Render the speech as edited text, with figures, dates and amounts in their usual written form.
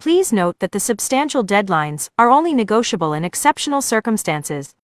Please note that the substantial deadlines are only negotiable in exceptional circumstances.